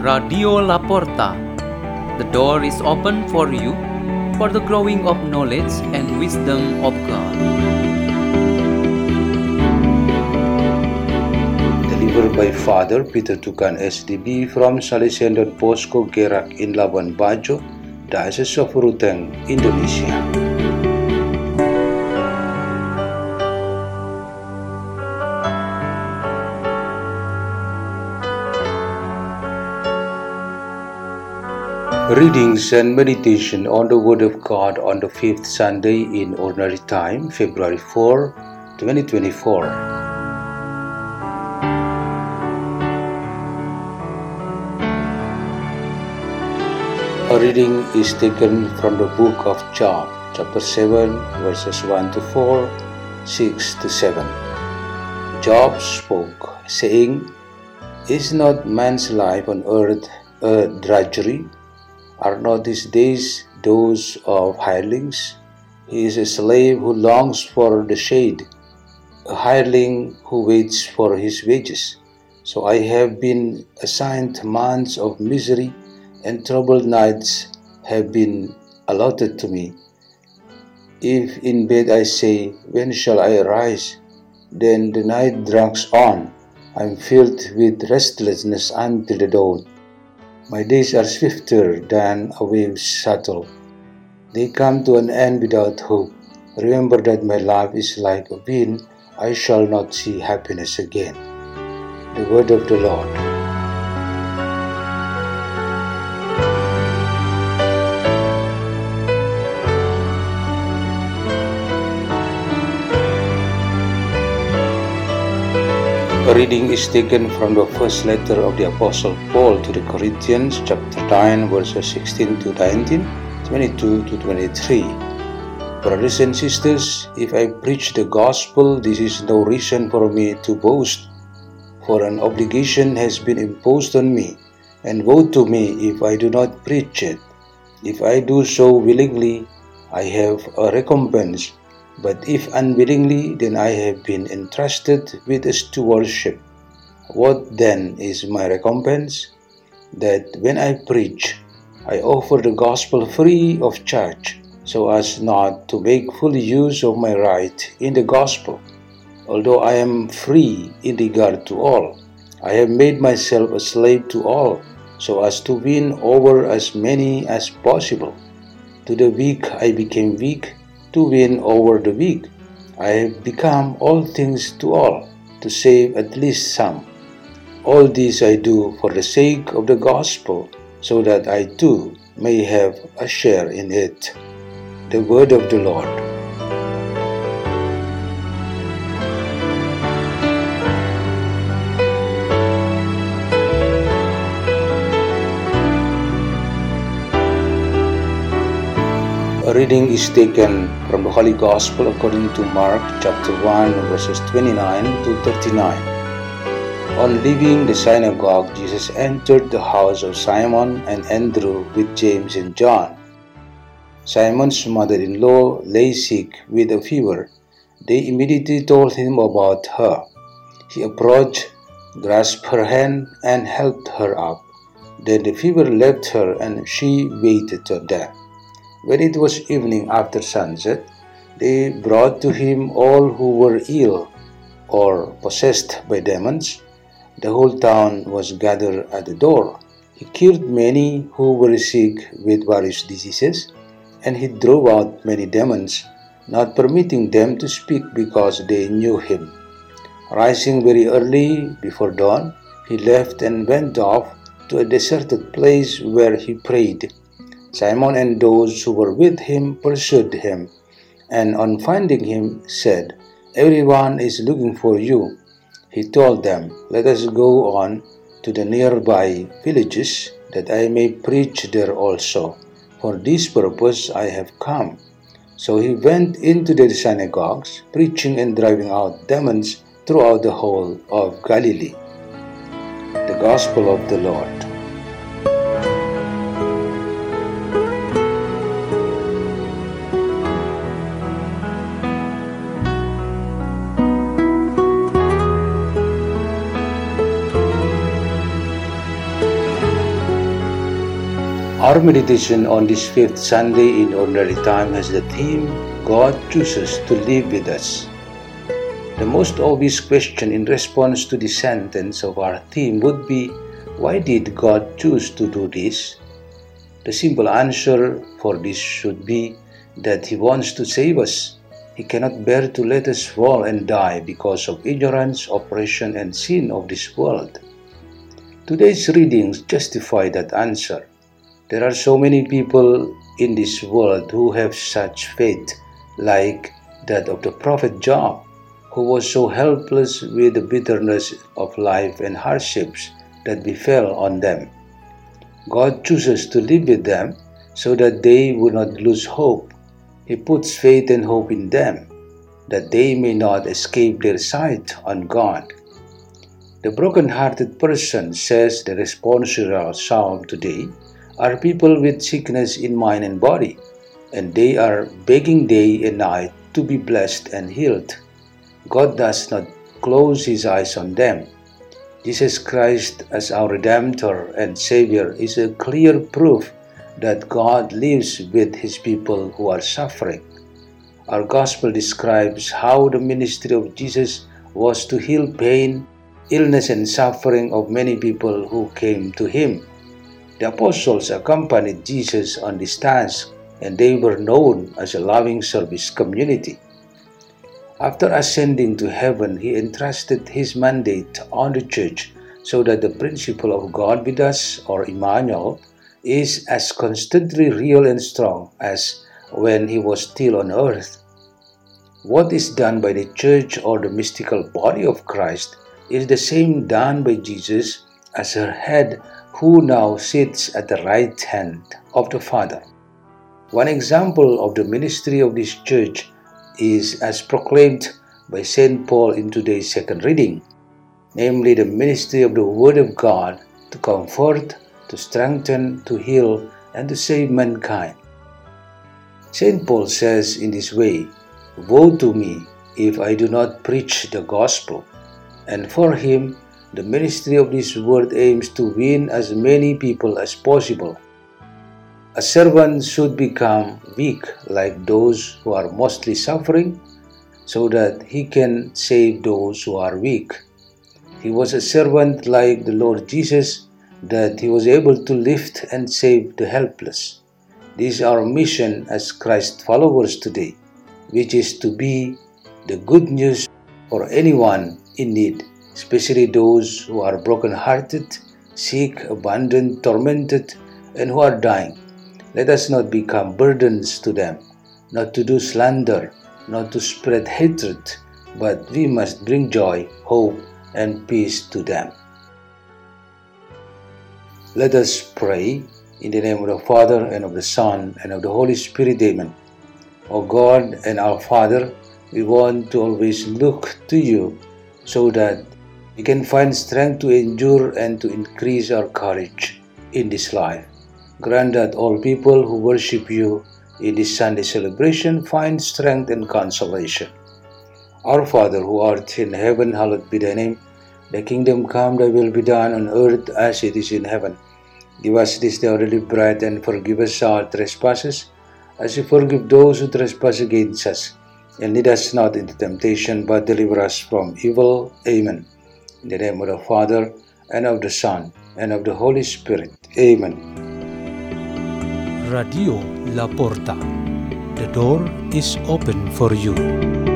Radio La Porta. The door is open for you for the growing of knowledge and wisdom of God. Delivered by Father Peter Tukan SDB from Salesian Don Bosco Gerak in Labuan Bajo, Diocese of Ruteng, Indonesia. Readings and meditation on the Word of God on the fifth Sunday in Ordinary Time, February 4, 2024. A reading is taken from the book of Job, chapter 7, verses 1 to 4, 6 to 7. Job spoke, saying, "Is not man's life on earth a drudgery? Are not his days those of hirelings? He is a slave who longs for the shade, a hireling who waits for his wages. So I have been assigned months of misery, and troubled nights have been allotted to me. If in bed I say, when shall I arise? Then the night drags on. I am filled with restlessness until the dawn. My days are swifter than a wave's shuttle. They come to an end without hope. Remember that my life is like a wind. I shall not see happiness again." The word of the Lord. A reading is taken from the first letter of the Apostle Paul to the Corinthians, chapter 9, verses 16 to 19, 22 to 23. Brothers and sisters, if I preach the gospel, this is no reason for me to boast, for an obligation has been imposed on me, and woe to me if I do not preach it. If I do so willingly, I have a recompense. But if unwillingly, then I have been entrusted with a stewardship. What then is my recompense? That when I preach, I offer the gospel free of charge, so as not to make full use of my right in the gospel. Although I am free in regard to all, I have made myself a slave to all, so as to win over as many as possible. To the weak I became weak, to win over the weak. I have become all things to all, to save at least some. All this I do for the sake of the gospel, so that I too may have a share in it. The word of the Lord. A reading is taken from the Holy Gospel according to Mark chapter 1 verses 29 to 39. On leaving the synagogue, Jesus entered the house of Simon and Andrew with James and John. Simon's mother-in-law lay sick with a fever. They immediately told him about her. He approached, grasped her hand, and helped her up. Then the fever left her, and she waited till death. When it was evening after sunset, they brought to him all who were ill or possessed by demons. The whole town was gathered at the door. He cured many who were sick with various diseases, and he drove out many demons, not permitting them to speak because they knew him. Rising very early before dawn, he left and went off to a deserted place where he prayed. Simon and those who were with him pursued him, and on finding him said, "Everyone is looking for you." He told them, "Let us go on to the nearby villages, that I may preach there also. For this purpose I have come." So he went into the synagogues, preaching and driving out demons throughout the whole of Galilee. The Gospel of the Lord. Our meditation on this fifth Sunday in Ordinary Time has the theme, God chooses to live with us. The most obvious question in response to the sentence of our theme would be, why did God choose to do this? The simple answer for this should be that He wants to save us. He cannot bear to let us fall and die because of ignorance, oppression, and sin of this world. Today's readings justify that answer. There are so many people in this world who have such faith, like that of the prophet Job, who was so helpless with the bitterness of life and hardships that befell on them. God chooses to live with them so that they would not lose hope. He puts faith and hope in them, that they may not escape their sight on God. The broken-hearted person, says the responsorial psalm today, are people with sickness in mind and body, and they are begging day and night to be blessed and healed. God does not close His eyes on them. Jesus Christ as our Redemptor and Savior is a clear proof that God lives with His people who are suffering. Our Gospel describes how the ministry of Jesus was to heal pain, illness, and suffering of many people who came to Him. The apostles accompanied Jesus on this task, and they were known as a loving service community. After ascending to heaven, He entrusted His mandate on the church so that the principle of God with us, or Emmanuel, is as constantly real and strong as when He was still on earth. What is done by the church or the mystical body of Christ is the same done by Jesus as her head, who now sits at the right hand of the Father. One example of the ministry of this church is as proclaimed by St. Paul in today's second reading, namely the ministry of the Word of God to comfort, to strengthen, to heal, and to save mankind. St. Paul says in this way, "Woe to me if I do not preach the gospel." And for him, the ministry of this word aims to win as many people as possible. A servant should become weak like those who are mostly suffering, so that he can save those who are weak. He was a servant like the Lord Jesus, that he was able to lift and save the helpless. This is our mission as Christ followers today, which is to be the good news for anyone in need, especially those who are broken-hearted, sick, abandoned, tormented, and who are dying. Let us not become burdens to them, not to do slander, not to spread hatred, but we must bring joy, hope, and peace to them. Let us pray in the name of the Father, and of the Son, and of the Holy Spirit. Amen. O God and our Father, we want to always look to You so that we can find strength to endure and to increase our courage in this life. Grant that all people who worship You in this Sunday celebration find strength and consolation. Our Father who art in heaven, hallowed be Thy name. Thy kingdom come, Thy will be done on earth as it is in heaven. Give us this day our daily bread, and forgive us our trespasses, as we forgive those who trespass against us. And lead us not into temptation, but deliver us from evil. Amen. In the name of the Father, and of the Son, and of the Holy Spirit. Amen. Radio La Porta. The door is open for you.